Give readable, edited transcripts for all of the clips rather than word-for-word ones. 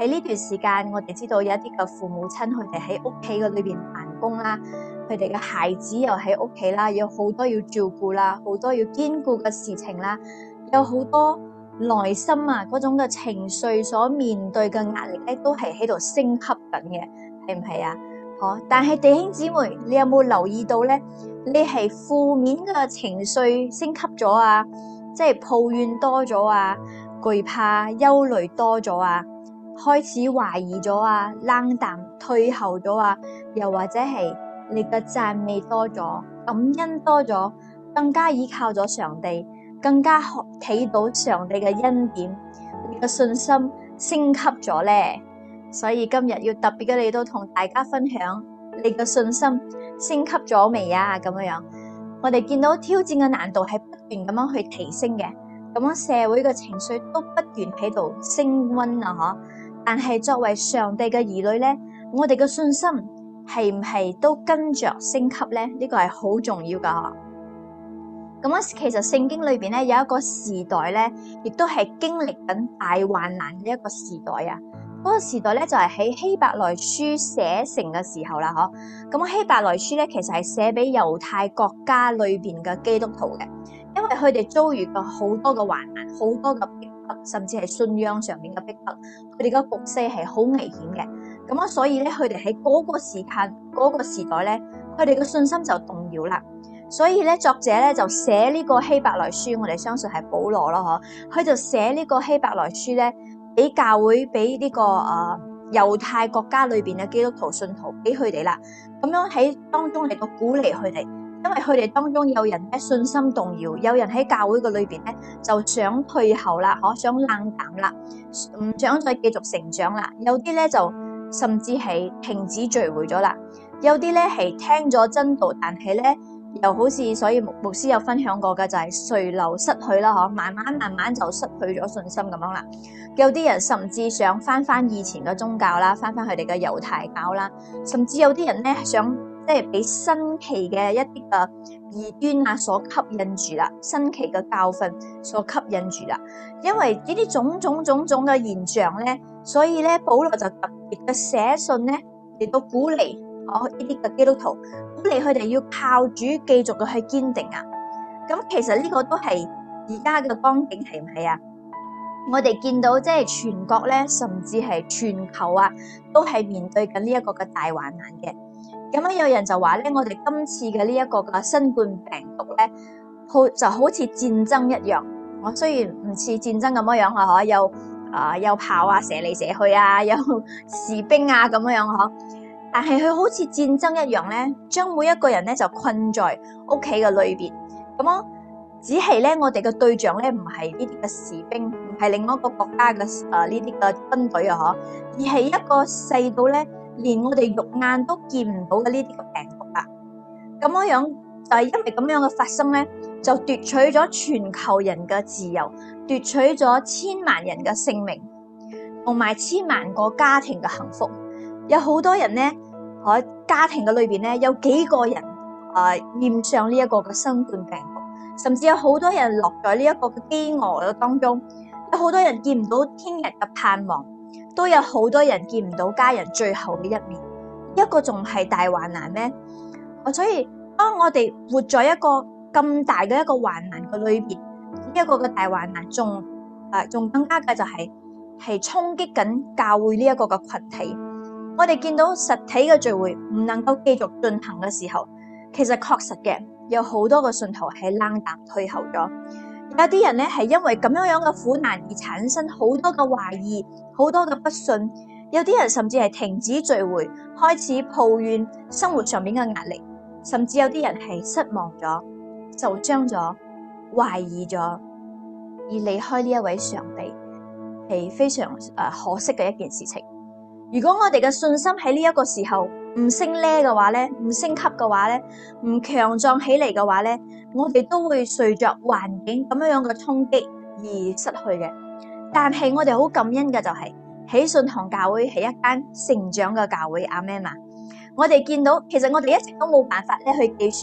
喺呢段時間，我哋知道有一啲嘅父母親，佢哋喺屋企嘅裏邊辦公啦，佢哋嘅孩子又喺屋企啦，有好多要照顧啦，好多要兼顧嘅事情啦，有好多內心啊嗰種嘅情緒所面對嘅壓力咧，都係喺度升級緊嘅，係唔係啊？但係弟兄姊妹，你有冇留意到咧？你係負面嘅情緒升級咗啊，即係抱怨多咗啊，懼怕、憂慮多咗啊，開始懷疑咗啊，冷淡、退後咗啊，又或者係你嘅讚美多咗，感恩多咗，更加依靠咗上帝，更加睇到上帝嘅恩典，你嘅信心升級咗咧。所以今日要特別嘅嚟到同大家分享，你嘅信心升級咗未啊？咁樣，我哋見到挑戰嘅難度係不斷咁樣去提升嘅，咁樣社會嘅情緒都不斷喺度升溫啊！但係作為上帝嘅兒女咧，我哋嘅信心係唔係都跟着升級咧？呢個係好重要噶。咁其實聖經裏邊咧有一個時代咧，亦都係經歷緊大患難嘅一個時代啊。嗰個時代咧就係喺希伯來書寫成嘅時候啦，咁希伯來書咧其實係寫俾猶太國家裏邊嘅基督徒嘅，因為佢哋遭遇過好多嘅患難，好多嘅逼迫，甚至係信仰上面嘅逼迫，佢哋嘅局勢係好危險嘅。咁所以咧佢哋喺嗰個時間、嗰個時代咧，佢哋嘅信心就動搖啦。所以咧作者咧就寫呢個希伯來書，我哋相信係保羅咯，佢就寫呢個希伯來書咧，俾教會，俾呢個猶太國家裏邊嘅基督徒信徒，俾佢哋啦，咁樣喺當中嚟到鼓勵佢哋，因為佢哋當中有人咧信心動搖，有人喺教會嘅裏邊咧就想退後啦，想冷淡啦，唔想再繼續成長啦，有啲咧就甚至係停止聚會咗啦，有啲咧係聽咗真道，但係咧又好似，所以牧師有分享過嘅就係隨流失去啦，慢慢就失去咗信心咁樣啦。有啲人甚至想翻以前嘅宗教啦，翻佢哋嘅猶太教啦，甚至有啲人咧想即係俾新奇嘅一啲嘅異端啊所吸引住啦，新奇嘅教訓所吸引住啦。因為呢啲種種嘅現象咧，所以咧保羅就特別嘅寫信咧嚟到鼓勵呢啲嘅基督徒，鼓勵佢哋要靠主繼續嘅去堅定啊。咁其實呢個都係而家嘅光景，係唔係啊？我哋見到即係全國咧，甚至係全球啊，都係面對緊呢一個嘅大患難嘅。咁有人就話咧，我哋今次嘅呢一個嘅新冠病毒咧，就好似戰爭一樣。我雖然唔似戰爭咁樣啊，有炮啊，射嚟射去啊，有士兵啊咁樣，但係佢好似戰爭一樣咧，將每一個人咧就困在屋企嘅裏邊。咁只係咧，我哋嘅對象咧唔係呢啲嘅士兵，唔係另外一個國家嘅呢啲嘅軍隊啊，而係一個細到咧連我哋肉眼都見唔到嘅呢啲嘅病毒啊。咁樣就係因為咁樣嘅發生咧，就奪取咗全球人嘅自由，奪取咗千萬人嘅性命，同埋千萬個家庭嘅幸福。有好多人咧，喺家庭嘅裏邊咧，有幾個人染上呢一個嘅新冠病毒。甚至有好多人落在呢一個嘅飢餓嘅當中，有好多人見唔到聽日嘅盼望，都有好多人見唔到家人最後嘅一面。一個仲係大患難咩？所以當我哋活在一個咁大嘅一個患難嘅裏邊，呢一個嘅大患難仲更加嘅就係衝擊緊教會呢一個嘅群體。我哋見到實體嘅聚會唔能夠繼續進行嘅時候，其實確實嘅。有好多個信徒係冷淡退後咗，有啲人咧係因為咁樣嘅苦難而產生好多嘅懷疑，好多嘅不信，有啲人甚至係停止聚會，開始抱怨生活上面嘅壓力，甚至有啲人係失望咗、受傷咗、懷疑咗，而離開呢一位上帝，係非常可惜嘅一件事情。如果我哋嘅信心喺呢一個時候唔升呢嘅話咧，唔升級嘅話咧，唔強壯起嚟嘅話咧，我哋都會隨着環境咁樣嘅衝擊而失去嘅。但係我哋好感恩嘅就係喜信堂教會係一間成長嘅教會，阿們嘛。我哋見到其實我哋一直都冇辦法咧去計算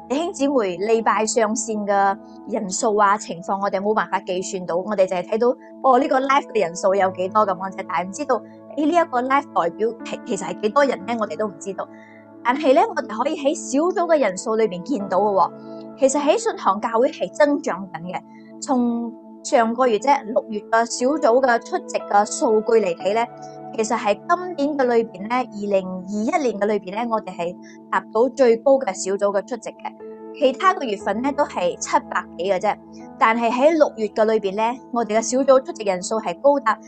弟兄姊妹禮拜上線嘅人數啊情況，我哋冇辦法計算到，我哋淨係睇到呢個 live 嘅人數有幾多咁樣啫，但係唔知道呢一個 live 代表其實係幾多人咧，我哋都唔知道。但係咧，我哋可以喺小組嘅人數裏邊見到嘅，其實喺信堂教會係增長緊嘅。從上個月6月嘅小組嘅出席嘅數據嚟睇咧，其實係今年嘅裏邊咧，2021年嘅裏邊咧，我哋係達到最高嘅小組嘅出席嘅。其他個月份咧都係700幾嘅啫，但係喺6月嘅裏邊咧，我哋嘅小組出席人數係高達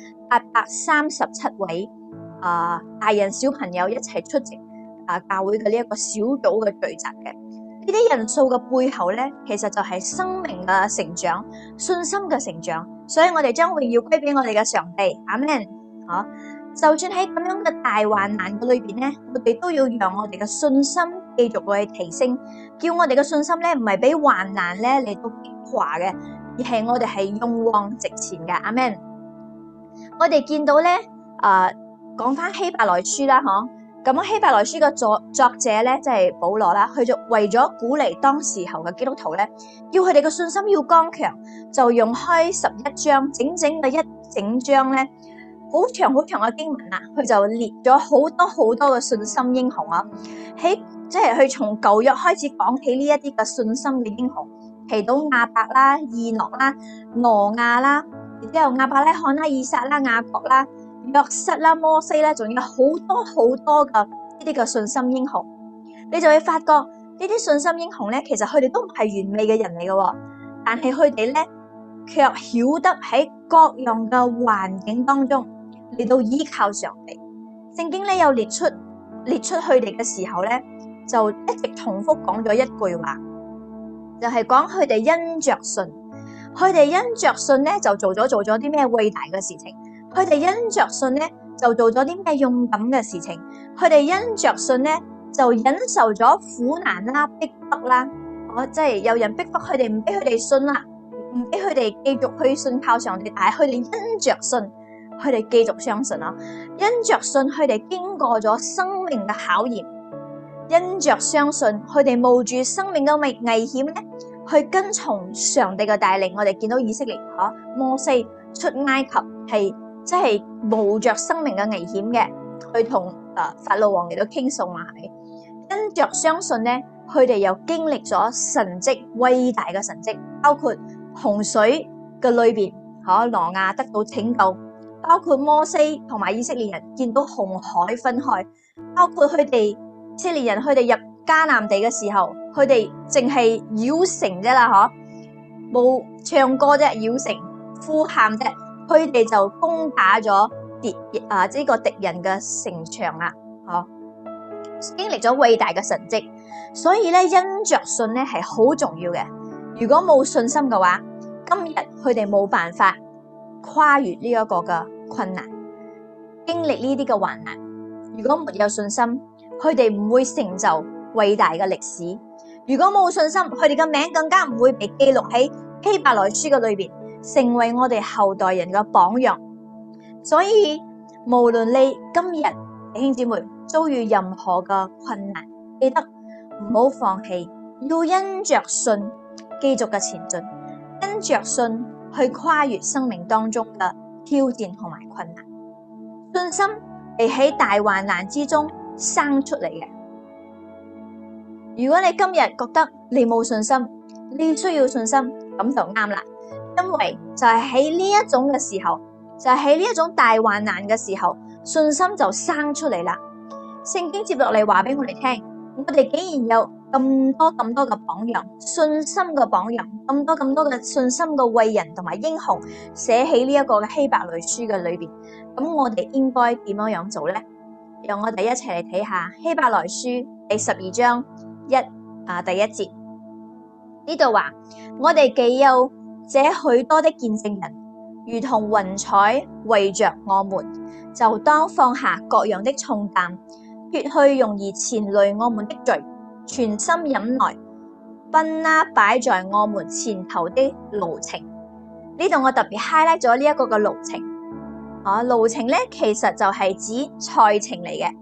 837位，大人小朋友一齊出席教會嘅呢一個小組嘅聚集嘅。呢啲人數嘅背後咧，其實就係生命嘅成長、信心嘅成長，所以我哋將會要歸俾我哋嘅上帝，阿們。就算喺咁樣嘅大患難嘅裏邊咧，我哋都要讓我哋嘅信心繼續去提升，叫我哋嘅信心咧唔係俾患難咧嚟到擊垮嘅，而係我哋係勇往直前嘅，阿們。我哋見到咧，講翻希伯來書啦，咁希伯來書嘅作者咧，即係保羅啦，佢就為咗鼓勵當時候嘅基督徒咧，叫佢哋嘅信心要剛強，就用開11章，整嘅一整章咧，好長嘅經文啊，佢就列咗好多嘅信心英雄啊，即係佢從舊約開始講起呢一啲嘅信心嘅英雄，提到亞伯啦、以諾啦、挪亞啦，然之後亞伯拉罕啦、以撒啦、雅各啦、約瑟啦、摩西啦，仲有好多嘅呢啲嘅信心英雄，你就會發覺呢啲信心英雄咧，其實佢哋都唔係完美嘅人嚟嘅，但係佢哋咧卻曉得喺各樣嘅環境當中嚟到依靠上帝。聖經咧有列出佢哋嘅時候咧，就一直重複講咗一句話，就係講佢哋因着信，佢哋因着信咧就做咗啲咩偉大嘅事情。佢哋因着信咧，就做咗啲咩勇敢嘅事情？佢哋因着信咧，就忍受咗苦難啦、逼迫啦。即係有人逼迫佢哋，唔俾佢哋信啦，唔俾佢哋繼續去信靠上帝。但係佢哋因着信，佢哋繼續相信啊！因着信，佢哋經過咗生命嘅考驗，因着相信，佢哋冒住生命嘅危險咧，去跟從上帝嘅帶領。我哋見到以色列摩西出埃及係。即係冒着生命嘅危險嘅，去同法老王嚟到傾訴嘛，係咪？因着相信咧，佢哋又經歷咗神蹟，偉大嘅神蹟，包括洪水嘅裏邊，挪亞得到拯救，包括摩西同埋以色列人見到紅海分開，包括佢哋以色列人佢哋入迦南地嘅時候，佢哋淨係繞城啫啦，冇唱歌啫，繞城呼喊啫。佢哋就攻打咗呢個敵人嘅城牆啦，經歷咗偉大嘅神蹟，所以咧因着信咧係好重要嘅。如果冇信心嘅話，今日佢哋冇辦法跨越呢一個嘅困難，經歷呢啲嘅患難。如果沒有信心，佢哋唔會成就偉大嘅歷史。如果冇信心，佢哋嘅名更加唔會被記錄喺希伯來書嘅裏邊，成為我哋後代人嘅榜樣。所以無論你今日弟兄姊妹遭遇任何嘅困難，記得唔好放棄，要因着信繼續嘅前進，因着信去跨越生命當中嘅挑戰同埋困難。信心係喺大患難之中生出嚟嘅。如果你今日覺得你冇信心，你需要信心，咁就啱啦。因為就係喺呢一種嘅時候，就係喺呢一種大患難嘅時候，信心就生出嚟啦。聖經接落嚟話俾我哋聽，我哋竟然有咁多嘅榜樣，信心嘅榜樣，咁多嘅信心嘅偉人同埋英雄寫喺呢一個嘅希伯來書嘅裏邊。咁我哋應該點樣做呢？讓我哋一齊嚟睇下希伯來書第12章第一節，呢度話我哋既有這許多的見證人，如同雲彩圍着我們，就當放下各樣的重擔，脫去容易纏累我們的罪，全心忍耐，奔那擺在我們前頭的路程。呢度我特別 highlight 咗呢一個嘅路程。路程咧其實就係指賽程嚟嘅，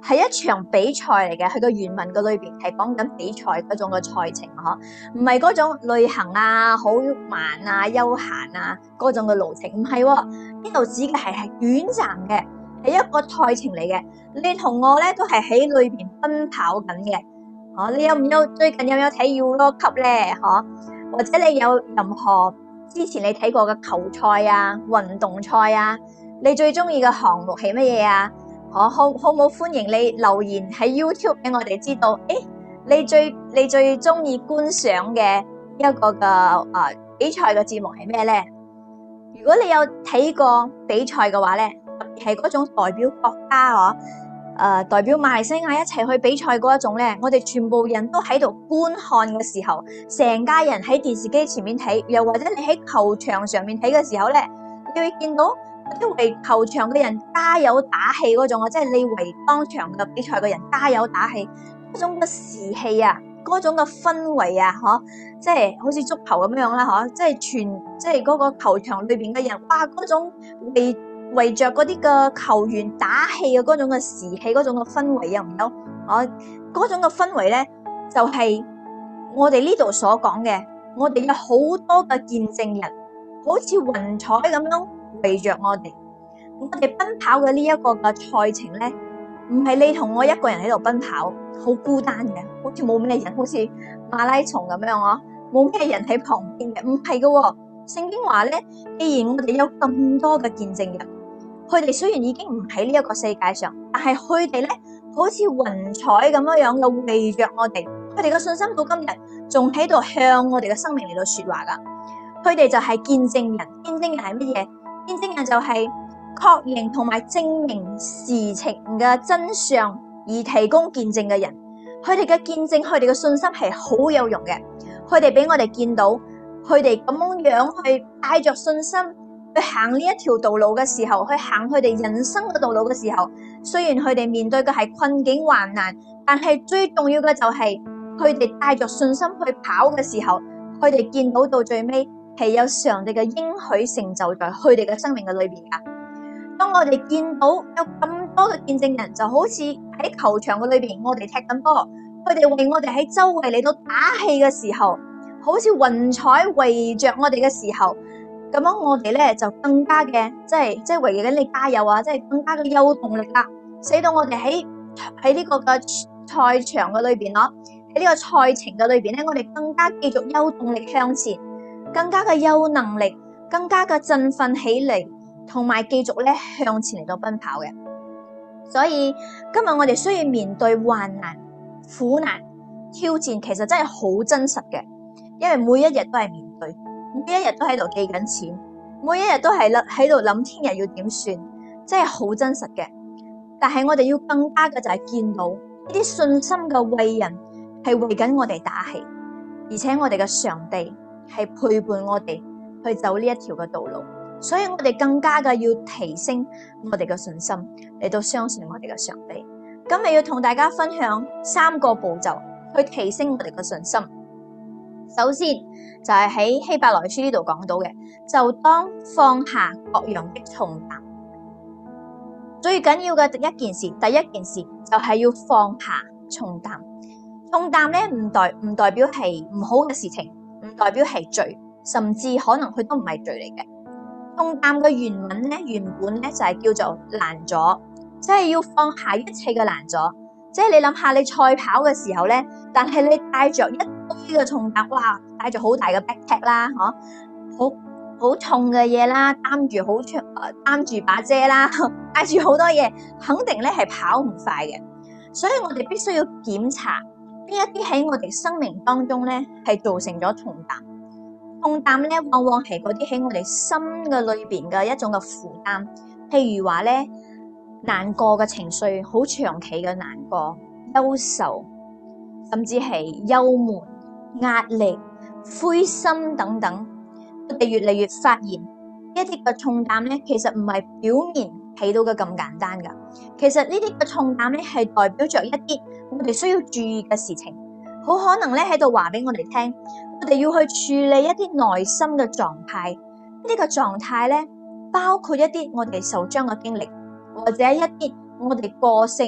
係一場比賽嚟嘅，佢個原文嘅裏邊係講緊比賽嗰種嘅賽程嗬，唔係嗰種旅行啊，好慢啊，休閒啊嗰種嘅路程，唔係喎，呢度指嘅係短暫嘅，係一個賽程嚟嘅。你同我咧都係喺裏邊奔跑緊嘅，你有唔有最近有睇 Euro Cup 咧？或者你有任何之前你睇過嘅球賽啊、運動賽啊，你最中意嘅項目係乜嘢啊？好冇歡迎你留言喺 YouTube 俾我哋知道，你最中意觀賞嘅一個嘅比賽嘅節目係咩咧？如果你有睇過比賽嘅話咧，特別係嗰種代表國家代表馬來西亞一齊去比賽嗰一種咧，我哋全部人都喺度觀看嘅時候，成家人喺電視機前面睇，又或者你喺球場上面睇嘅時候咧，你會見到啲為球場嘅人加油打氣嗰種啊，即係你為當場嘅比賽嘅人加油打氣嗰種嘅士氣啊，嗰種嘅氛圍啊，即係好似足球咁樣啦，即係嗰個球場裏邊嘅人，哇，嗰種圍着嗰啲嘅球員打氣嘅嗰種嘅士氣，嗰種嘅氛圍有唔有？嗰種嘅氛圍咧，就係我哋呢度所講嘅，我哋有好多嘅見證人，好似雲彩咁樣圍着我哋奔跑嘅呢一個嘅賽程咧，唔係你同我一個人喺度奔跑，好孤單嘅，好似冇咩人，好似馬拉松咁樣冇咩人喺旁邊嘅，唔係嘅。聖經話咧，既然我哋有咁多嘅見證人，佢哋雖然已經唔喺呢一個世界上，但係佢哋咧好似雲彩咁樣嘅圍着我哋，佢哋嘅信心到今日仲喺度向我哋嘅生命嚟到說話噶。佢哋就係見證人，見證人係乜嘢？見證人就係確認同埋證明事情嘅真相而提供見證嘅人。佢哋嘅見證，佢哋嘅信心係好有用嘅。佢哋俾我哋見到，佢哋咁樣去帶着信心去行呢一條道路嘅時候，去行佢哋人生嘅道路嘅時候，雖然佢哋面對嘅係困境患難，但係最重要嘅就係佢哋帶着信心去跑嘅時候，佢哋見到到最尾係有上帝嘅應許成就在佢哋嘅生命嘅裏邊噶。當我哋見到有咁多嘅見證人，就好似喺球場嘅裏邊，我哋踢緊波，佢哋為我哋喺周圍嚟到打氣嘅時候，好似雲彩圍着我哋嘅時候，咁樣我哋咧就更加嘅，即係為緊你加油啊！即係更加嘅有動力啦，使到我哋喺呢個嘅賽場嘅裏邊咯，喺呢個賽程嘅裏邊咧，我哋更加繼續有動力向前，更加嘅有能力，更加嘅振奮起嚟，同埋繼續咧向前嚟到奔跑嘅。所以今日我哋需要面對患難、苦難、挑戰，其實真係好真實嘅，因為每一日都係面對。每一日都喺度記緊錢，每一日都係喺度諗聽日要點算，真係好真實嘅。但係我哋要更加嘅就係見到呢啲信心嘅為人係為緊我哋打氣，而且我哋嘅上帝係陪伴我哋去走呢一條嘅道路，所以我哋更加嘅要提升我哋嘅信心，嚟到相信我哋嘅上帝。今日要同大家分享3個步驟去提升我哋嘅信心。首先就係喺希伯來書呢度講到嘅，就當放下各樣的重擔。最緊要嘅第一件事就係要放下重擔。重擔咧唔代表係唔好嘅事情，唔代表係罪，甚至可能佢都唔係罪嚟嘅。重擔嘅原本咧就係叫做攔阻，即係要放下一切嘅攔阻。即係你諗下，你賽跑嘅時候咧，但係你帶着一堆嘅重擔，哇，帶住好大嘅 backpack 啦，好重嘅嘢啦，擔住把遮啦，帶住好多嘢，肯定咧係跑唔快嘅。所以我哋必須要檢查邊一啲喺我哋生命當中咧係造成咗重擔。重擔咧往往係嗰啲喺我哋心嘅裏邊嘅一種嘅負擔，譬如話咧，難過嘅情緒，好長期嘅難過、憂愁，甚至係憂悶、壓力、灰心等等，我哋越嚟越發現一啲嘅重擔咧，其實唔係表面睇到嘅咁簡單噶。其實呢啲嘅重擔咧，係代表着一啲我哋需要注意嘅事情，好可能咧喺度話俾我哋聽，我哋要去處理一啲內心嘅狀態。呢啲嘅狀態咧，包括一啲我哋受傷嘅經歷，或者一啲我哋個性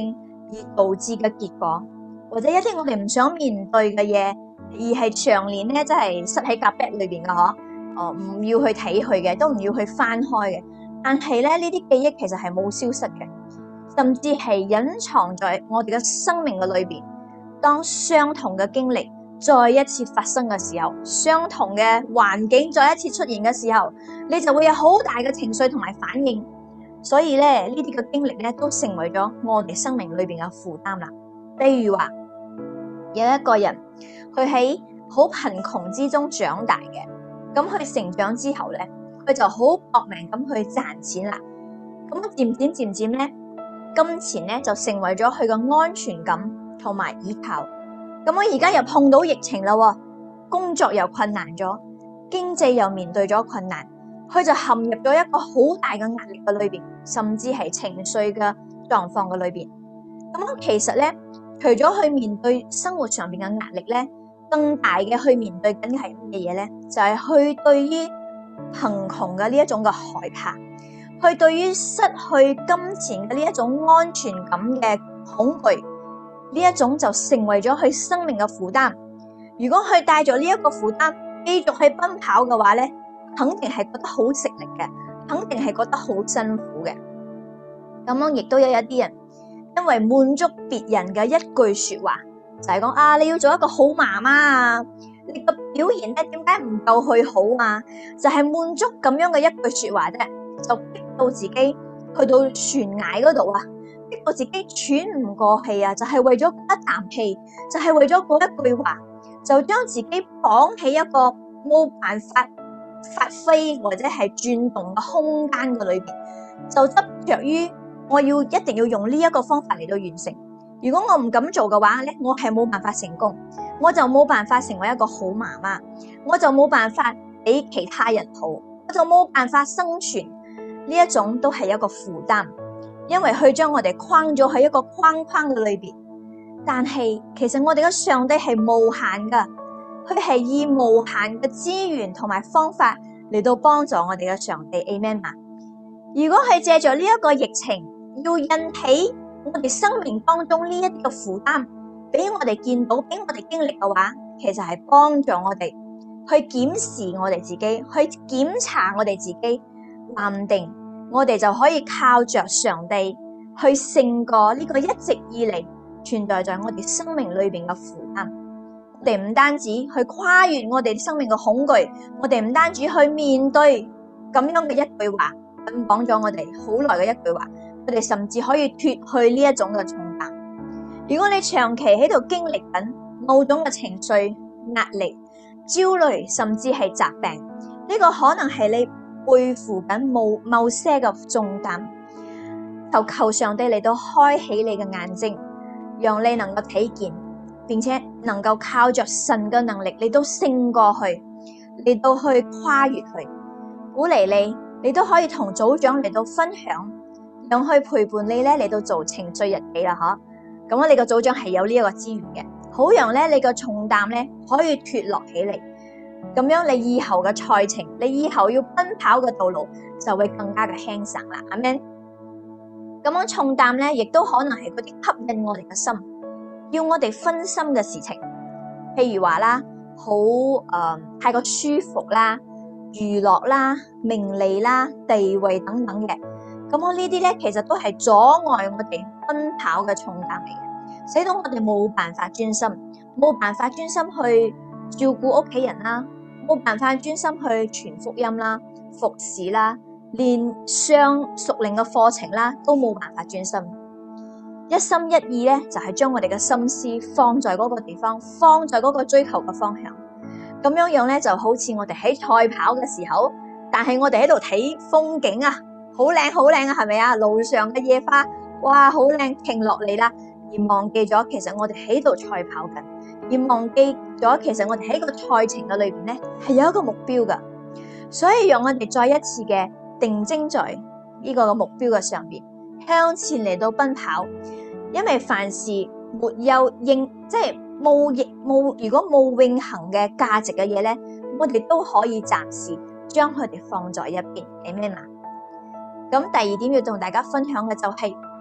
而導致嘅結果，或者一啲我哋唔想面對嘅嘢，而係長年咧，真係塞喺夾 bag 裏邊嘅嗬，唔要去睇佢嘅，都唔要去翻開嘅。但係咧，呢啲記憶其實係冇消失嘅，甚至係隱藏在我哋嘅生命嘅裏邊。當相同嘅經歷再一次發生嘅時候，相同嘅環境再一次出現嘅時候，你就會有好大嘅情緒同埋反應。所以咧，呢啲嘅經歷咧都成為咗我哋生命裏邊嘅負擔啦。例如話，有一個人佢喺好貧窮之中長大嘅，咁佢成長之後咧，佢就好搏命咁去賺錢啦。咁漸漸咧，金錢咧就成為咗佢嘅安全感同埋依靠。咁我而家又碰到疫情啦，工作又困難咗，經濟又面對咗困難，佢就陷入咗一個好大嘅壓力嘅裏邊，甚至係情緒嘅狀況嘅裏邊。咁其實咧，除咗去面對生活上邊嘅壓力咧，更大嘅去面對緊係乜嘢嘢咧？就係去對於貧窮嘅呢一種嘅害怕，去對於失去金錢嘅呢一種安全感嘅恐懼，呢一種就成為咗佢生命嘅負擔。如果佢帶咗呢一個負擔繼續去奔跑嘅話咧，肯定係覺得好食力嘅，肯定係覺得好辛苦嘅。咁樣亦都有一啲人因為滿足別人嘅一句說話，就係講你要做一個好媽媽啊，你個表現咧點解唔夠去好啊？就係滿足咁樣嘅一句說話啫，就逼到自己去到懸崖嗰度啊，逼到自己喘唔過氣啊，就係為咗一啖氣，就係為咗嗰一句話，就將自己綁喺一個冇辦法發揮或者係轉動嘅空間嘅裏邊，就執着於我一定要用呢一個方法嚟到完成。如果我唔咁做嘅話咧，我係冇辦法成功，我就冇辦法成為一個好媽媽，我就冇辦法俾其他人好，我就冇辦法生存。呢一種都係一個負擔，因為佢將我哋框咗喺一個框框嘅裏邊。但係其實我哋嘅上帝係無限噶，佢係以無限嘅資源同埋方法嚟到幫助我哋嘅上帝。Amen 嘛？如果係借助呢一個疫情，要引起我哋生命當中呢一啲嘅負擔，俾我哋見到，俾我哋經歷嘅話，其實係幫助我哋去檢視我哋自己，去檢查我哋自己，話唔定我哋就可以靠着上帝去勝過呢個一直以嚟存在在我哋生命裏邊嘅負擔。我哋唔單止去跨越我哋生命嘅恐懼，我哋唔單止去面對咁樣嘅一句話，咁講咗我哋好耐嘅一句話，我哋甚至可以脫去呢一種嘅重擔。如果你長期喺度經歷緊某種嘅情緒、壓力、焦慮，甚至係疾病，呢個可能係你背負緊某些嘅重擔。求上帝嚟到開啟你嘅眼睛，讓你能夠睇見，並且能夠靠着神嘅能力嚟到勝過去，嚟到去跨越去。鼓勵你都可以同組長嚟到分享，讓去陪伴你咧嚟到做情緒日記啦，嗬。咁我哋個組長係有呢一個資源嘅，好讓咧你個重擔咧可以脫落起嚟，咁樣你以後嘅賽程，你以後要奔跑嘅道路就會更加嘅輕省啦。阿們。咁樣重擔咧，亦都可能係嗰啲吸引我哋嘅心，要我哋分心嘅事情，譬如話啦，太過舒服啦、娛樂啦、名利啦、地位等等嘅。咁我呢啲咧，其實都係阻礙我哋奔跑嘅重擔嚟嘅，使到我哋冇辦法專心，冇辦法專心去照顧屋企人啦，冇辦法專心去傳福音啦、服侍啦，連上屬靈嘅課程啦，都冇辦法專心。一心一意咧，就係將我哋嘅心思放在嗰個地方，放在嗰個追求嘅方向。咁樣樣咧，就好似我哋喺賽跑嘅時候，但係我哋喺度睇風景啊。好靚好靚啊，係咪啊？路上嘅野花，哇，好靚，停落嚟啦，而忘記咗其實我哋喺度賽跑緊，而忘記咗其實我哋喺個賽程嘅裏邊咧係有一個目標噶，所以讓我哋再一次嘅定睛在呢個目標嘅上邊，向前嚟到奔跑。因為凡事沒有即係如果冇永恆嘅價值嘅嘢咧，我哋都可以暫時將佢哋放在一邊，係咩嘛？咁第二點要同大家分享嘅就係，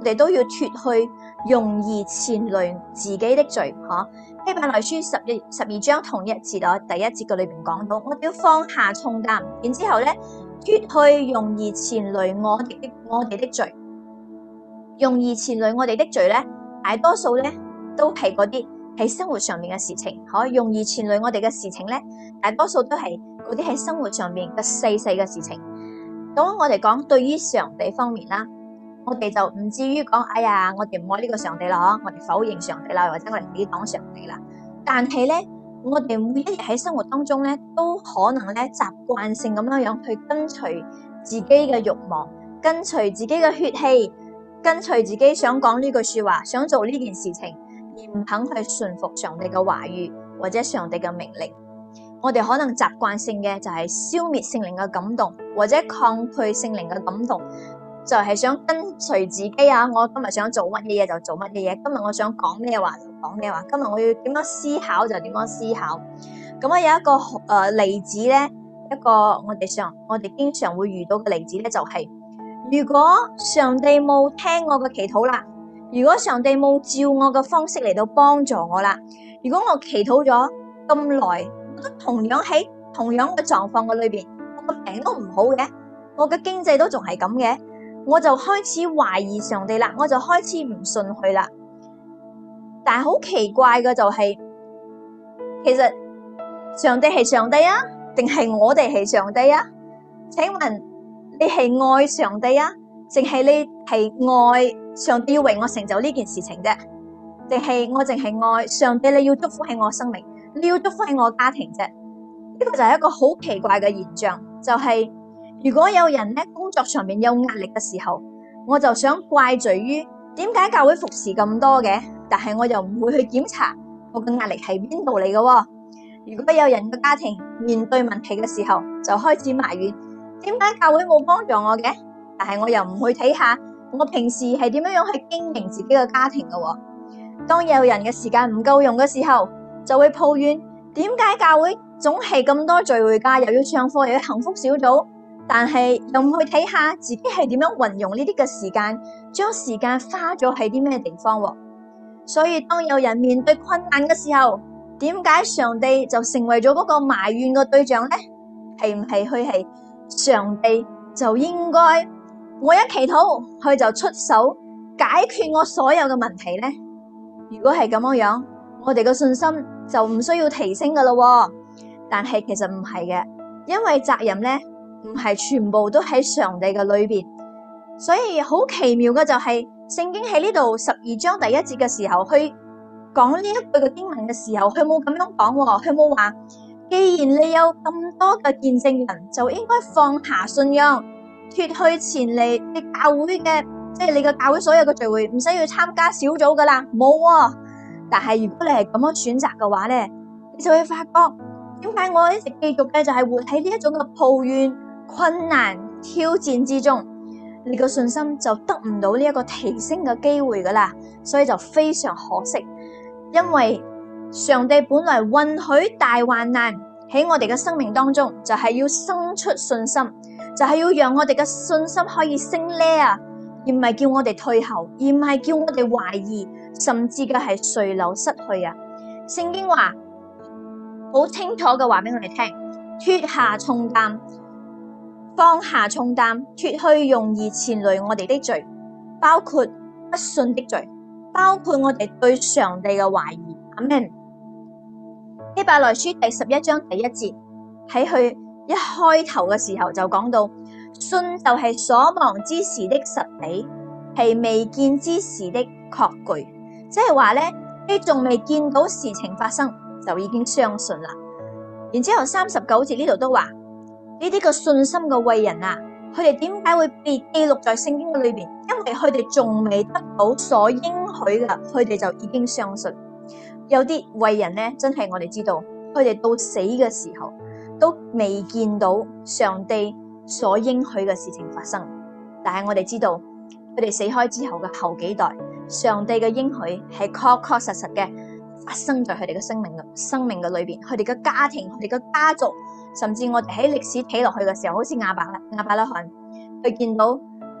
我哋都要脫去容易纏累自己的罪。希伯來書12章同一節第一節嘅裏邊講到，我哋要放下重擔，然之後咧脫去容易纏累我哋的罪。容易纏累我哋的罪咧，大多數咧都係嗰啲喺生活上面嘅事情。容易纏累我哋嘅事情咧，大多數都係嗰啲喺生活上面嘅細細嘅事情。咁我哋講對於上帝方面啦，我哋就唔至於講，哎呀，我哋唔愛呢個上帝啦，我哋否認上帝啦，或者我哋抵擋上帝啦。但係咧，我哋每一日喺生活當中咧，都可能咧習慣性咁樣去跟隨自己嘅慾望，跟隨自己嘅血氣，跟隨自己想講呢句說話，想做呢件事情，而唔肯去順服上帝嘅話語或者上帝嘅命令。我哋可能習慣性嘅就係消滅聖靈嘅感動，或者抗拒聖靈嘅感動，就係想跟隨自己啊！我今日想做乜嘢就做乜嘢，今日我想講咩話就講咩話，今日我要點樣思考就點樣思考。咁有一個例子咧，一個我哋經常會遇到嘅例子咧，就係如果上帝冇聽我嘅祈禱啦，如果上帝冇照我嘅方式嚟到幫助我啦，如果我祈禱咗咁耐，我都同樣喺同樣嘅狀況嘅裏邊，我個病都唔好嘅，我嘅經濟都仲係咁嘅，我就開始懷疑上帝啦，我就開始唔信佢啦。但係好奇怪嘅就係，其實上帝係上帝啊，定係我哋係上帝啊？請問你係愛上帝啊，定係你係愛上帝要為我成就呢件事情啫？定係我淨係愛上帝，你要祝福喺我生命，你要祝福喺我家庭啫？呢個就係一個好奇怪嘅現象，就係如果有人咧工作上面有壓力嘅時候，我就想怪罪於點解教會服侍咁多嘅，但係我又唔會去檢查我嘅壓力係邊度嚟嘅。如果有人嘅家庭面對問題嘅時候，就開始埋怨點解教會冇幫助我嘅，但係我又唔去睇下我平時係點樣去經營自己嘅家庭嘅。當有人嘅時間唔夠用嘅時候，就會抱怨點解教會總係咁多聚會㗎，又要上課又要幸福小組，但係又唔去睇下自己係點樣運用呢啲嘅時間，將時間花咗喺啲咩地方。所以當有人面對困難嘅時候，點解上帝就成為咗嗰個埋怨嘅對象呢？係唔係佢係上帝就應該我一祈禱佢就出手解決我所有嘅問題呢？如果係咁樣，我哋嘅信心就唔需要提升噶啦。但係其實唔係嘅，因為責任咧唔係全部都喺上帝嘅裏邊，所以好奇妙嘅就係聖經喺呢度12章第1節嘅時候，去講呢一句嘅經文嘅時候，佢冇咁樣講，佢冇話既然你有咁多嘅見證人，就應該放下信仰，脫去前嚟你教會嘅，即係你嘅教會所有嘅聚會，唔使要參加小組噶啦，冇。但係如果你係咁樣選擇嘅話咧，你就會發覺點解我一直繼續嘅就係活喺呢一種嘅抱怨、困難、挑戰之中，你個信心就得唔到呢一個提升嘅機會噶啦，所以就非常可惜。因為上帝本來允許大患難喺我哋嘅生命當中，就係要生出信心，就係要讓我哋嘅信心可以升呢啊，而唔係叫我哋退後，而唔係叫我哋懷疑，甚至嘅係垂流失去啊。聖經話好清楚嘅話俾我哋聽，脫下重擔，放下重擔，脫去容易纏累我哋的罪，包括不信的罪，包括我哋對上帝嘅懷疑。阿們。希伯來書第11章第1節喺佢一開頭嘅時候就講到，信就係所望之時的實底，係未見之時的確據。即係話咧，你仲未見到事情發生，就已經相信啦。然之後39節呢度都話，呢啲個信心嘅偉人啊，佢哋點解會被記錄在聖經嘅裏邊？因為佢哋仲未得到所應許嘅，佢哋就已經相信。有啲偉人咧，真係我哋知道，佢哋到死嘅時候都未見到上帝所應許嘅事情發生。但係我哋知道，佢哋死開之後嘅後幾代，上帝嘅應許係確確實實嘅發生在佢哋嘅生命嘅裏邊，佢哋嘅家庭、佢哋嘅家族，甚至我哋喺歷史睇落去嘅時候，好似亞伯拉罕，佢見到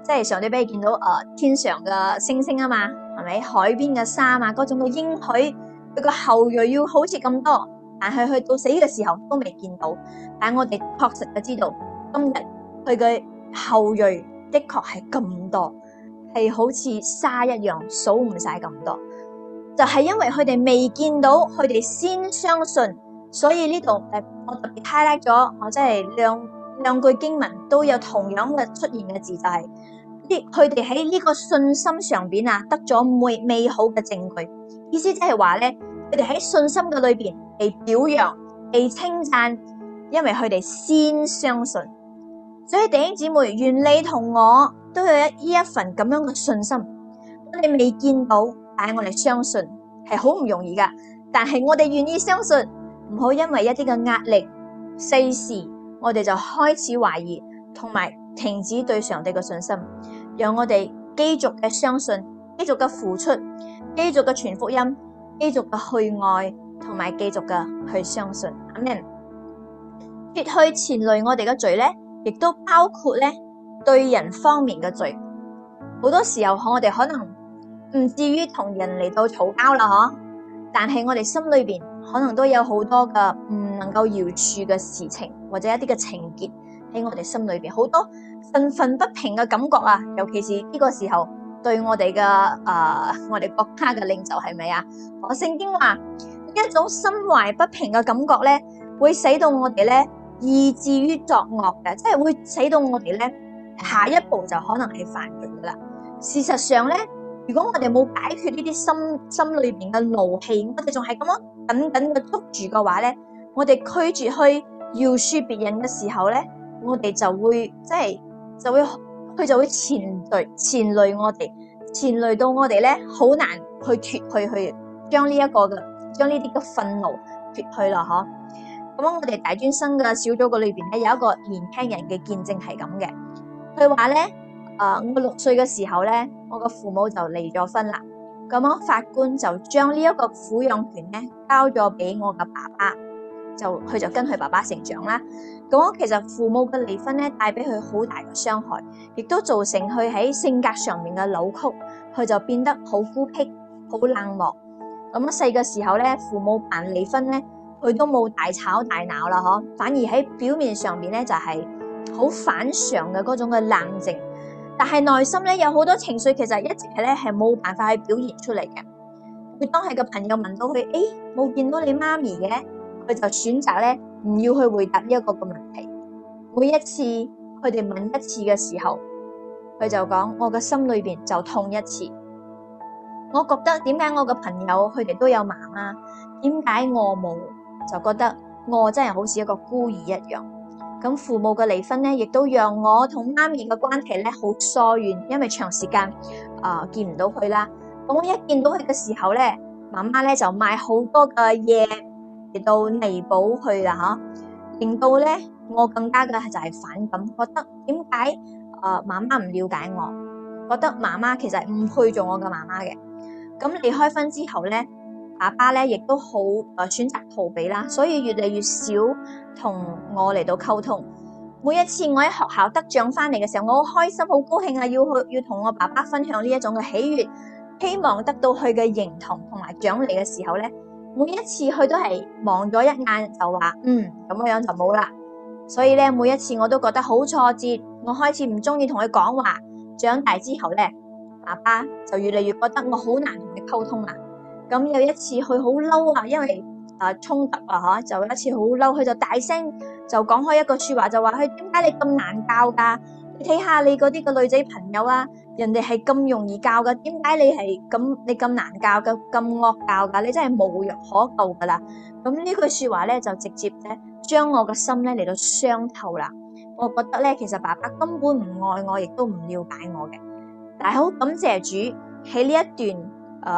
即係上帝俾你見到天上嘅星星啊嘛，係咪？海邊嘅沙啊，嗰種嘅應許，佢個後裔要好似咁多，但係去到死嘅時候都未見到。但係我哋確實就知道，今日佢嘅後裔的確係咁多，係好似沙一樣數唔晒咁多。就係因為佢哋未見到，佢哋先相信，所以呢度我特別 highlight 咗，我即係兩句經文都有同樣嘅出現嘅字，就係佢哋喺呢個信心上邊得咗美好嘅證據。意思即係話咧，佢哋喺信心嘅裏邊被表揚、被稱讚，因為佢哋先相信。所以弟兄姊妹，願你同我都有呢一份咁樣嘅信心。我哋未見到，但係我哋相信係好唔容易噶。但係我哋願意相信，唔好因為一啲嘅壓力、世事，我哋就開始懷疑，同埋停止對上帝嘅信心。讓我哋繼續嘅相信，繼續嘅付出，繼續嘅傳福音，繼續嘅去愛，同埋繼續嘅去相信。阿們。脫去纏累我哋嘅罪咧，亦都包括咧對人方面嘅罪。好多時候我哋可能唔至於同人嚟到嘈交啦，嗬，但係我哋心裏邊可能都有好多嘅唔能夠饒恕嘅事情，或者一啲嘅情結喺我哋心裏邊，好多憤憤不平嘅感覺啊！尤其是呢個時候對我哋嘅我哋國家嘅領袖係咪啊？聖經話一種心懷不平嘅感覺咧，會使到我哋咧以至於作惡嘅，即係會使到我哋咧下一步就可能係犯罪噶啦。事實上咧，如果我哋冇解決呢啲心裏邊嘅怒氣，我哋仲係咁樣緊緊嘅捉住嘅話咧，我哋拒絕去饒恕別人嘅時候咧，我哋就會佢就會纏累我哋，纏累到我哋咧好難去脫去將呢啲嘅憤怒脫去啦，嗬。咁我哋大專生嘅小組嘅裏邊咧有一個年輕人嘅見證係咁嘅，佢話咧我6歲嘅時候咧，我個父母就離咗婚啦，咁樣法官就將呢一個撫養權咧交咗俾我嘅爸爸，佢就跟佢爸爸成長啦。咁其實父母嘅離婚咧帶俾佢好大嘅傷害，亦都造成佢喺性格上面嘅扭曲，佢就變得好孤僻、好冷漠。咁細嘅時候咧，父母辦離婚咧，佢都冇大吵大鬧啦，嗬，反而喺表面上面咧就係好反常嘅嗰種嘅冷靜，但係內心咧有好多情緒，其實一直係冇辦法去表現出嚟嘅。佢當係個朋友問到佢，冇見到你媽咪嘅，佢就選擇咧唔要去回答呢一個嘅問題。每一次佢哋問一次嘅時候，佢就講：我嘅心裏邊就痛一次。我覺得點解我嘅朋友佢哋都有媽媽，點解我冇？就覺得我真係好似一個孤兒一樣。咁父母嘅離婚咧，亦都讓我同媽咪嘅關係咧好疏遠，因為長時間見唔到佢啦。咁我一見到佢嘅時候咧，媽媽咧就買好多嘅嘢嚟到彌補佢啦，吓，令到咧我更加嘅就係反感，覺得點解媽媽唔了解我，覺得媽媽其實唔配做我嘅媽媽嘅。咁離開婚之後咧，爸爸咧亦都好選擇逃避啦，所以越嚟越少同我嚟到溝通。每一次我喺學校得獎翻嚟嘅時候，我好開心好高興啊，要同我爸爸分享呢一種嘅喜悅，希望得到佢嘅認同同埋獎勵嘅時候咧，每一次佢都係望咗一眼就話咁樣就冇啦。所以咧每一次我都覺得好挫折，我開始唔中意同佢講話。長大之後咧，爸爸就越嚟越覺得我好難同佢溝通啦。咁有一次佢好嬲啊，因為衝突啊，就有一次好嬲，佢就大聲就講開一個說話，就話佢點解你咁難教噶？你睇下你嗰啲個女仔朋友啊，人哋係咁容易教噶，點解你咁難教噶，咁惡教噶？你真係無藥可救噶啦！咁呢句說話咧就直接咧將我嘅心咧嚟到傷透啦。我覺得咧其實爸爸根本唔愛我，亦都唔了解我嘅。但係好感謝主喺呢一段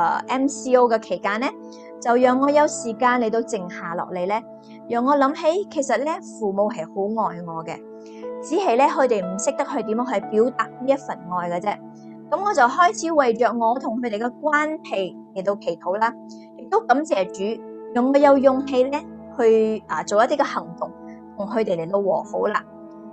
MCO 嘅期間咧，就讓我有時間嚟到靜下落嚟咧，讓我諗起其實咧父母係好愛我嘅，只係咧佢哋唔識得去點樣去表達呢一份愛嘅啫。咁我就開始為着我同佢哋嘅關係嚟到祈禱啦，亦都感謝主，讓我有勇氣咧去做一啲嘅行動，同佢哋嚟到和好啦。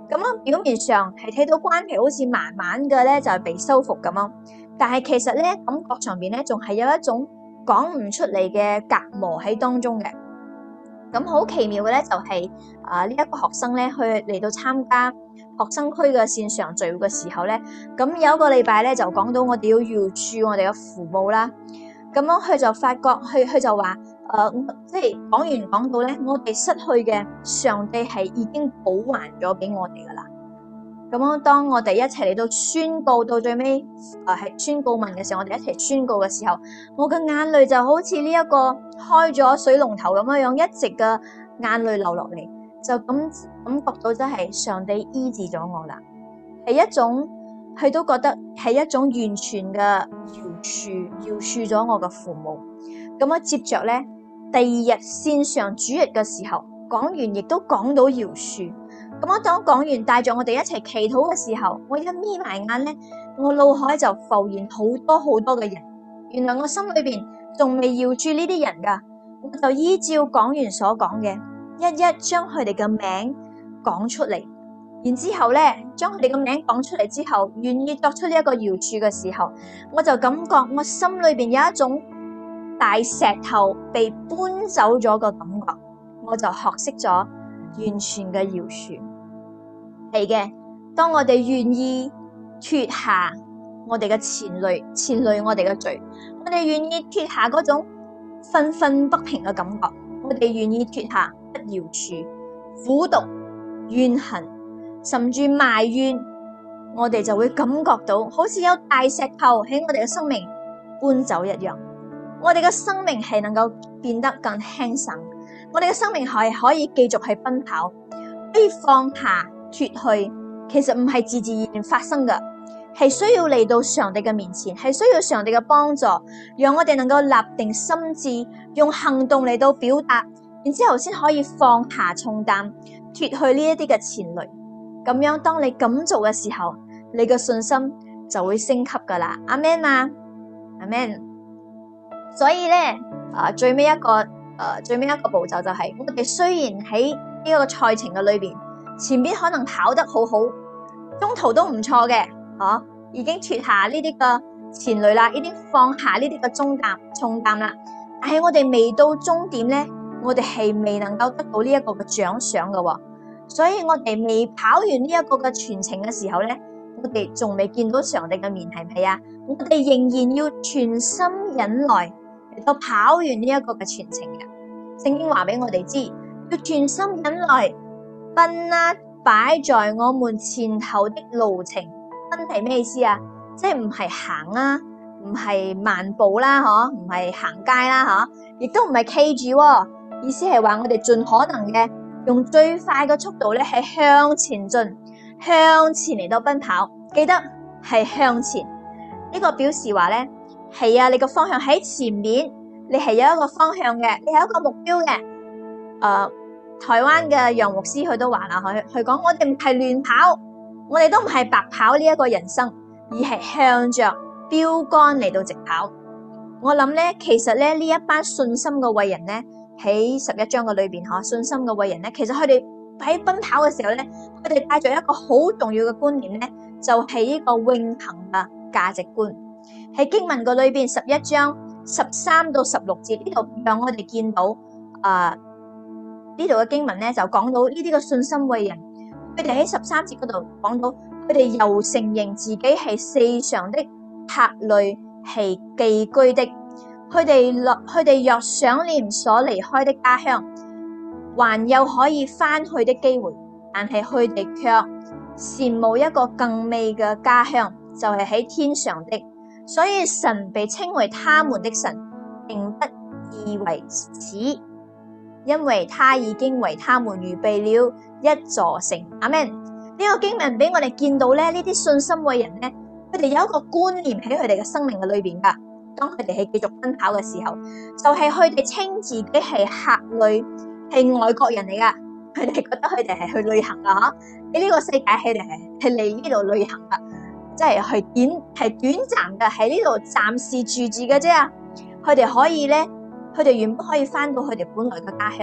咁樣表面上係睇到關係好似慢慢嘅咧就係被修復咁樣，但係其實咧感覺上邊咧仲係有一種講唔出嚟嘅隔膜喺當中嘅。咁好奇妙嘅咧就係呢一個學生咧去嚟到參加學生區嘅線上聚會嘅時候咧，咁有一個禮拜咧就講到我哋要饒恕我哋嘅父母啦。咁樣佢就發覺佢就話即係講完講到咧，我哋失去嘅上帝係已經補還咗俾我哋噶啦。咁樣當我哋一齊嚟到宣告到最尾係宣告文嘅時候，我哋一齊宣告嘅時候，我嘅眼淚就好似呢一個開咗水龍頭咁樣一直嘅眼淚流落嚟，就感覺到真係上帝醫治咗我啦，係一種佢都覺得係一種完全嘅饒恕咗我嘅父母。咁樣接着咧，第二日線上主日嘅時候講完，亦都講到饒恕。咁我當講完帶着我哋一齊祈禱嘅時候，我一眯埋眼咧，我腦海就浮現好多好多嘅人，原來我心裏邊仲未饒恕呢啲人噶，我就依照講完所講嘅，一一將佢哋嘅名講出嚟，然之後咧將佢哋嘅名講出嚟之後，願意作出呢一個饒恕嘅時候，我就感覺我心裏邊有一種大石頭被搬走咗嘅感覺，我就學識咗完全嘅饒恕。係嘅，當我哋願意脫下我哋嘅纏累我哋嘅罪，我哋願意脫下嗰種憤憤不平嘅感覺，我哋願意脫下不饒恕、苦毒、怨恨，甚至埋怨，我哋就會感覺到好似有大石頭喺我哋嘅生命搬走一樣，我哋嘅生命係能夠變得更輕省，我哋嘅生命係可以繼續去奔跑，可以放下脫去，其實唔係自自然然發生嘅，係需要嚟到上帝嘅面前，係需要上帝嘅幫助，讓我哋能夠立定心志，用行動嚟到表達，然之後先可以放下重擔，脫去呢一啲嘅纏累。咁樣當你咁做嘅時候，你嘅信心就會升級噶啦。阿們嘛，阿們。所以咧，最尾一個步驟就係，我哋雖然喺呢個賽程嘅裏邊，前邊可能跑得好好，中途都唔錯嘅，已經脫下呢啲嘅纏累啦，已經放下呢啲嘅重擔啦。但係我哋未到終點咧，我哋係未能夠得到呢一個嘅獎賞嘅，所以我哋未跑完呢一個嘅全程嘅時候咧，我哋仲未見到上帝嘅面，係唔係啊？我哋仍然要全心忍耐嚟到跑完呢一個嘅全程嘅。聖經話俾我哋知，要全心忍耐。奔啦，擺在我們前頭的路程，奔係咩意思啊？即係唔係行啦，唔係漫步啦，唔係行街啦，亦都唔係企住，意思係話我哋盡可能嘅用最快嘅速度咧，係向前進，向前嚟到奔跑。記得係向前，呢個表示話咧係啊，你個方向喺前面，你係有一個方向嘅，你係一個目標嘅。台灣嘅楊牧師佢都話啦，佢講我哋唔係亂跑，我哋都唔係白跑呢一個人生，而係向着標杆嚟到直跑。我諗咧，其實咧呢一班信心嘅偉人咧，喺11章嘅裏邊信心嘅偉人咧，其實佢哋喺奔跑嘅時候咧，佢哋帶着一個好重要嘅觀念咧，就係呢個永恆嘅價值觀。喺經文嘅裏邊11章13到16節呢度，讓我哋見到呢度嘅經文咧就講到呢啲嘅信心偉人，佢哋喺13節嗰度講到，佢哋又承認自己係世上的客旅，係寄居的。佢哋若想念所離開的家鄉，還有可以翻去的機會，但係佢哋卻羨慕一個更美嘅家鄉，就係喺天上的。所以神被稱為他們的神，並不以為恥，因為他已經為他們預備了一座城。阿們。呢個經文俾我哋見到咧，呢啲信心偉人咧，佢哋有一個觀念喺佢哋嘅生命嘅裏邊噶。當佢哋係繼續奔跑嘅時候，就係佢哋稱自己係客旅，係外國人嚟噶。佢哋覺得佢哋係去旅行噶，喺呢個世界佢哋係嚟呢度旅行噶，即係短暫嘅，喺呢度暫時住住嘅啫。佢哋可以咧，佢哋原本可以翻到佢哋本來嘅家鄉，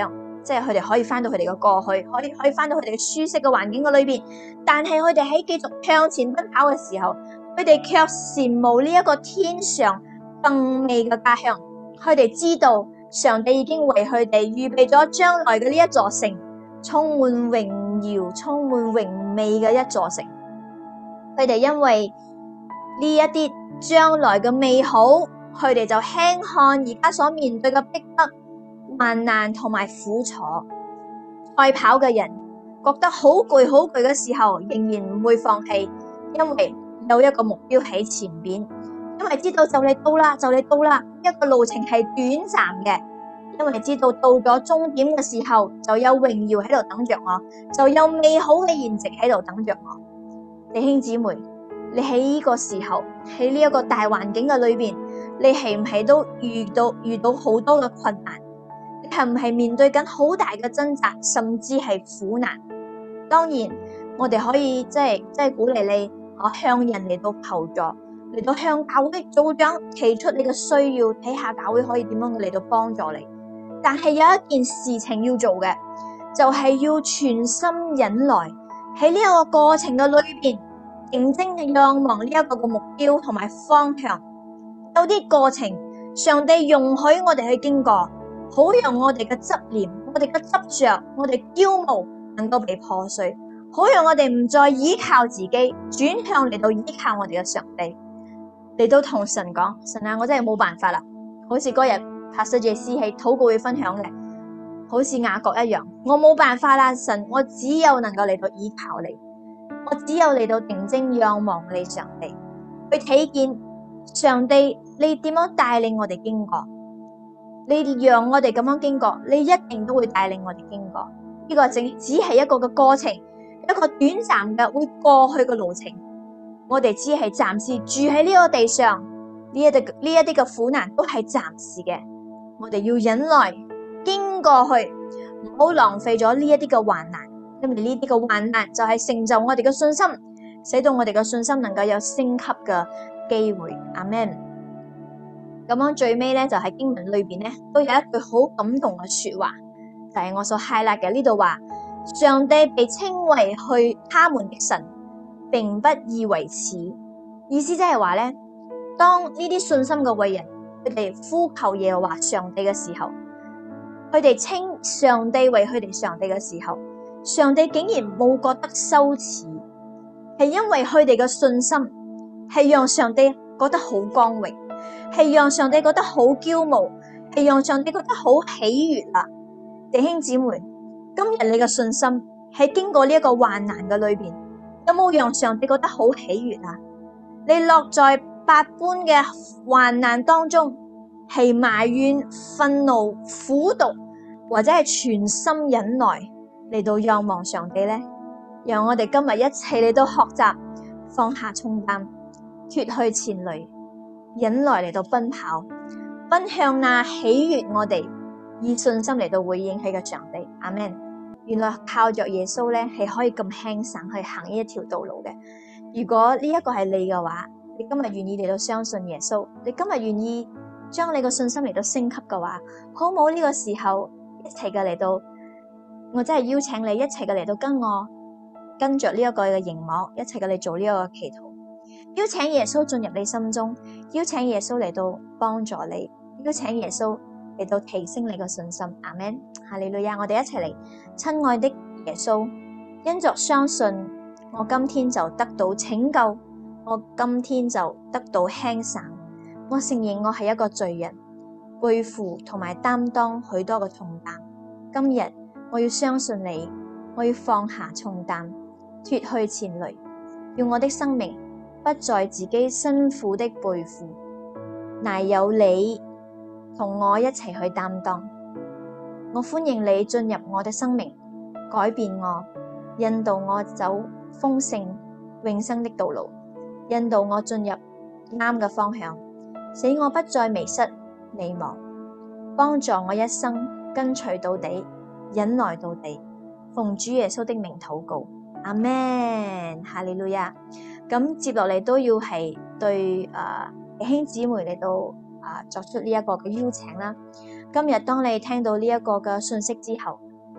即係佢哋可以翻到佢哋嘅過去，可以翻到佢哋嘅舒適嘅環境嘅裏邊。但係佢哋喺繼續向前奔跑嘅時候，佢哋卻羨慕呢一個天上更美嘅家鄉。佢哋知道上帝已經為佢哋預備咗將來嘅呢一座城，充滿榮耀、充滿榮美嘅一座城。佢哋因為呢一啲將來嘅美好，佢哋就輕看而家所面對嘅逼迫、患難同埋苦楚。賽跑嘅人覺得好攰好攰嘅時候，仍然唔會放棄，因為有一個目標喺前邊，因為知道就嚟到啦，就嚟到啦，一個路程係短暫嘅，因為知道到咗終點嘅時候，就有榮耀喺度等着我，就有美好嘅筵席喺度等着我。弟兄姊妹，你喺呢個時候，喺呢一個大環境嘅裏邊，你係唔係都遇到好多嘅困難？你係唔係面對緊好大嘅掙扎，甚至係苦難？當然，我哋可以即係鼓勵你，向人嚟到求助，嚟到向教會組長提出你嘅需要，睇下教會可以點樣嚟到幫助你。但係有一件事情要做嘅，就係要全心忍耐，喺呢一個過程嘅裏邊，認真嘅仰望呢一個嘅目標同埋方向。有啲過程，上帝容許我哋去經過，好讓我哋嘅執念、我哋嘅執着、我哋驕傲能夠被破碎，好讓我哋唔再依靠自己，轉向嚟到依靠我哋嘅上帝，嚟到同神講：神啊，我真係冇辦法啦！好似嗰日Pastor JC喺禱告會分享嘅，好似雅各一樣，我冇辦法啦，神，我只有能夠嚟到依靠你，我只有嚟到定睛仰望你上帝，去睇見上帝你點樣帶領我哋經過，你讓我哋咁樣經過，你一定都會帶領我哋經過。呢個只係一個嘅過程，一個短暫嘅會過去嘅路程。我哋只係暫時住喺呢個地上，呢一啲嘅苦難都係暫時嘅。我哋要忍耐經過去，唔好浪費咗呢一啲嘅患難，因為呢啲嘅患難就係成就我哋嘅信心，使到我哋嘅信心能夠有升級嘅機會。阿們。咁樣最尾咧，就喺經文裏邊咧，都有一句好感動嘅說話，就係我所 highlight 嘅呢度話：上帝被稱為去他們的神，並不以為恥。意思即係話咧，當呢啲信心嘅偉人，佢哋呼求耶和華上帝嘅時候，佢哋稱上帝為佢哋上帝嘅時候，上帝竟然冇覺得羞恥，係因為佢哋嘅信心係讓上帝覺得好光榮，係讓上帝覺得好驕傲，係讓上帝覺得好喜悅啊！弟兄姊妹，今日你嘅信心喺經過呢一個患難嘅裏邊，有冇讓上帝覺得好喜悅啊？你落在百般嘅患難當中，係埋怨、憤怒、苦毒，或者係全心忍耐嚟到仰望上帝呢？讓我哋今日一齊嚟到學習放下重擔，脫去纏累，忍耐嚟到奔跑，奔向那喜悅我哋，以信心嚟到回應佢嘅上帝。阿們。原來靠着耶穌咧，係可以咁輕省去行呢一條道路嘅。如果呢一個係你嘅話，你今日願意嚟到相信耶穌，你今日願意將你個信心嚟到升級嘅話，好冇呢個時候一齊嘅嚟到，我真係邀請你一齊嘅嚟到跟着呢一個嘅熒幕，一齊嘅嚟做呢一個祈禱，邀請耶穌進入你心中，邀請耶穌嚟到幫助你，邀請耶穌嚟到提升你個信心。阿們。哈利路亞！我哋一齊嚟，親愛的耶穌，因着相信，我今天就得到拯救，我今天就得到輕省。我承認我係一個罪人，背負同埋擔當許多嘅重擔。今日我要相信你，我要放下重擔，脫去纏累，要我的生命不再自己辛苦的背負，乃有你同我一齊去擔當。我歡迎你進入我的生命，改變我，引導我走豐盛永生的道路，引導我進入啱嘅方向，使我不再迷失迷茫，幫助我一生跟隨到底，忍耐到底。奉主耶穌的名禱告，阿們。哈利路亞。咁接落嚟都要係對弟兄姊妹嚟到作出呢一個嘅邀請啦。今日當你聽到呢一個嘅信息之後，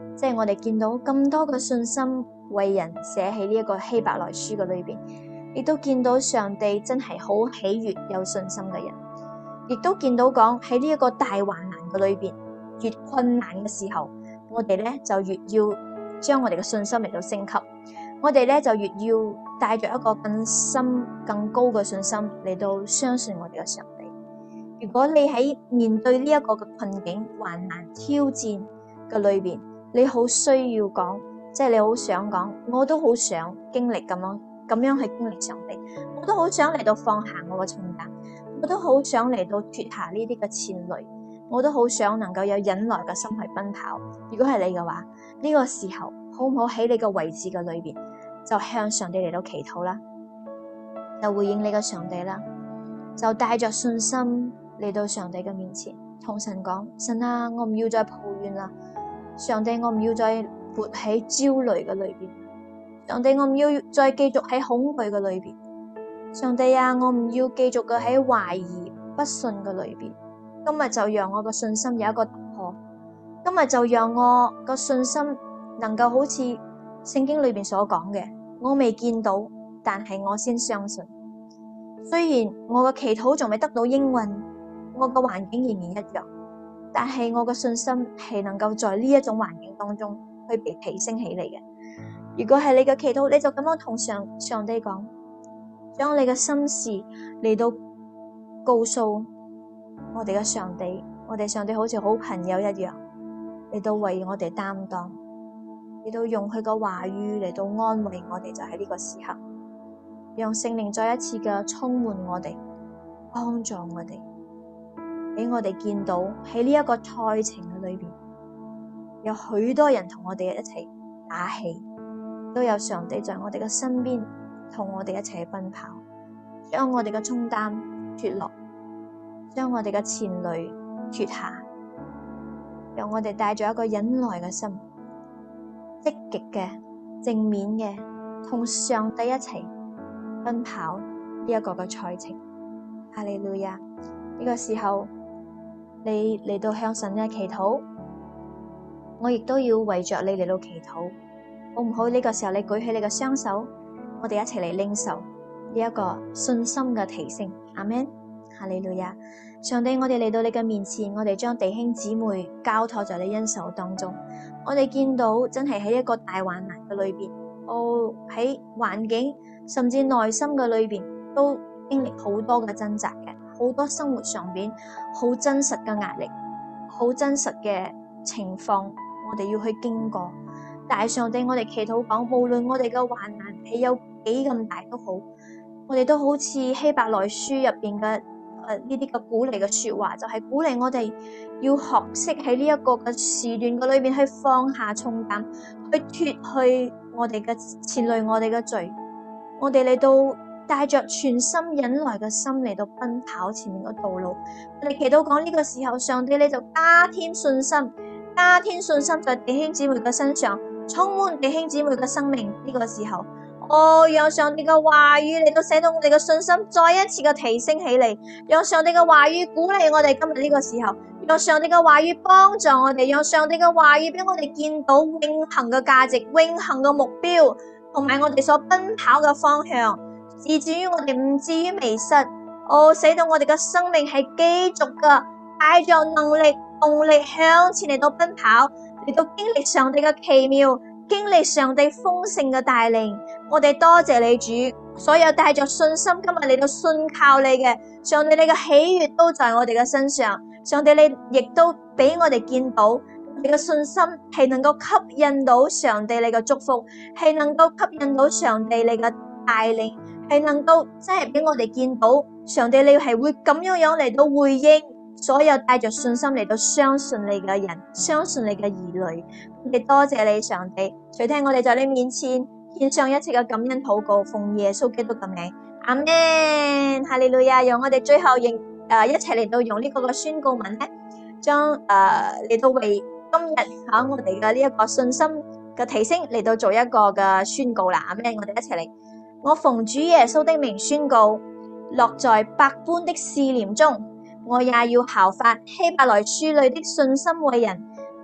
即係我哋見到咁多嘅信心為人寫喺呢一個希伯來書嘅裏邊，亦都見到上帝真係好喜悅有信心嘅人，亦都見到講喺呢一個大患難嘅裏邊，越困難嘅時候，我哋咧就越要將我哋嘅信心嚟到升級，我哋咧就越要帶着一個更深更高嘅信心嚟到相信我哋嘅上帝。如果你喺面對呢一個嘅困境、患難、挑戰嘅裏邊，你好需要講，即係你好想講，我都好想經歷咁樣去經歷上帝，我都好想嚟到放下我嘅重擔，我都好想嚟到脫下呢啲嘅纏累，我都好想能夠有忍耐嘅心去奔跑。如果係你嘅話，呢個時候好唔好喺你嘅位置嘅裏邊，就向上帝嚟到祈禱啦，就回應你嘅上帝啦，就帶着信心嚟到上帝嘅面前，同神講：神啊，我唔要再抱怨啦。上帝，我唔要再活喺焦慮嘅裏邊。上帝，我唔要再繼續喺恐懼嘅裏邊。上帝啊，我唔要繼續嘅喺懷疑不信嘅裏邊。今日就讓我嘅信心有一個突破。今日就讓我個信心能夠好似聖經裏邊所講嘅，我未見到，但係我先相信。雖然我嘅祈禱仲未得到應允，我嘅環境仍然一樣。但係我嘅信心係能夠在呢一種環境當中去被提升起嚟嘅。如果係你嘅祈禱，你就咁樣同上帝講，將你嘅心事嚟到告訴我哋嘅上帝，我哋上帝好似好朋友一樣，嚟到為我哋擔當，嚟到用佢嘅話語嚟到安慰我哋，就喺呢個時刻，讓聖靈再一次嘅充滿我哋，幫助我哋。俾我哋見到喺呢一個賽程嘅裏邊，有許多人同我哋一齊打氣，都有上帝在我哋嘅身邊，同我哋一齊去奔跑，將我哋嘅重擔脫落，將我哋嘅纏累脫下，讓我哋帶住一個忍耐嘅心，積極嘅、正面嘅，同上帝一齊奔跑呢一個嘅賽程。哈利路亞！呢個時候，你嚟到向神嘅祈禱，我亦都要為着你嚟到祈禱，好唔好？呢個時候你舉起你嘅雙手，我哋一齊嚟領受呢一個信心嘅提升。阿們，哈利路亞！上帝，我哋嚟到你嘅面前，我哋將弟兄姊妹交託在你恩手當中。我哋見到真係喺一個大患難嘅裏邊，喺環境甚至內心嘅裏邊都經歷好多嘅掙扎嘅。好多生活上邊好真實嘅壓力，好真實嘅情況，我哋要去經過。但係上帝，我哋祈禱講，無論我哋嘅患難係有幾咁大都好，我哋都好似希伯來書入邊嘅呢啲嘅鼓勵嘅說話，就係鼓勵我哋要學識喺呢一個嘅時段嘅裏邊去放下重擔，去脫去我哋嘅纏累我哋嘅罪，我哋嚟到帶着全心忍耐嘅心嚟到奔跑前面嘅道路。我哋祈禱講，呢個時候，上帝你就加添信心，加添信心在弟兄姊妹嘅身上，充滿弟兄姊妹嘅生命。呢個時候，讓上帝嘅話語嚟到使到我哋嘅信心再一次嘅提升起嚟，讓上帝嘅話語鼓勵我哋今日呢個時候，讓上帝嘅話語幫助我哋，讓上帝嘅話語俾我哋見到永恆嘅價值、永恆嘅目標，同埋我哋所奔跑嘅方向。以至於我哋唔至於迷失，使到我哋嘅生命係繼續嘅帶着能力、動力向前嚟到奔跑，嚟到經歷上帝嘅奇妙，經歷上帝豐盛嘅帶領。我哋多謝你主，所有帶着信心今日嚟到信靠你嘅上帝，你嘅喜悅都在我哋嘅身上。上帝，你亦都俾我哋見到你嘅信心係能夠吸引到上帝你嘅祝福，係能夠吸引到上帝你嘅帶領，係能夠真係俾我哋見到上帝你係會咁樣嚟到回應所有帶着信心嚟到相信你嘅人，相信你嘅兒女。我哋多謝你上帝，垂聽我哋在你面前獻上一切嘅感恩禱告，奉耶穌基督嘅名，阿們，哈利路亞。讓我哋最後一齊嚟到用呢個嘅宣告文咧，將嚟到為今日我哋嘅呢一個信心嘅提升嚟到做一個嘅宣告啦。阿們，我哋一齊嚟。我奉主耶穌的名宣告，落在百般的試煉中，我也要效法希伯來書裏的信心為人，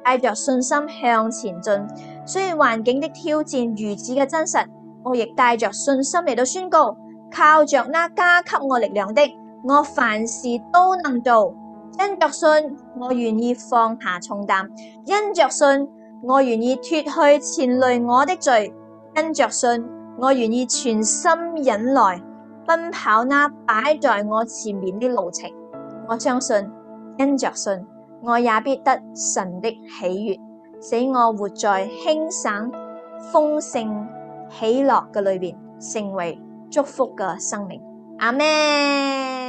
帶着信心向前進。雖然環境的挑戰如此嘅真實，我亦帶着信心嚟到宣告，靠着那加給我力量的，我凡事都能做。因着信，我願意放下重擔；因着信，我願意脫去纏累我的罪；因着信，我願意全心忍耐，奔跑那擺在我前面的路程。我相信，因着信，我也必得神的喜悅，使我活在輕省、豐盛、喜樂嘅裏邊，成為祝福嘅生命。阿們。